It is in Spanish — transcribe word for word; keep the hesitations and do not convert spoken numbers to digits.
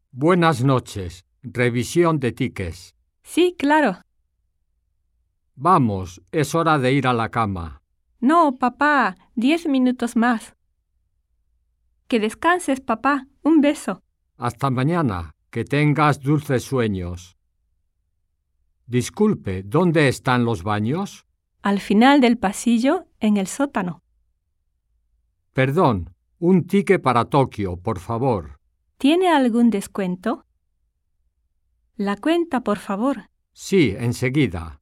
Buenas noches. Revisión de tickets. Sí, claro. Vamos, es hora de ir a la cama. No, papá, diez minutos más. Que descanses, papá. Un beso. Hasta mañana. Que tengas dulces sueños. Disculpe, ¿dónde están los baños? Al final del pasillo, en el sótano. Perdón, un ticket para Tokio, por favor. ¿Tiene algún descuento? La cuenta, por favor. Sí, enseguida.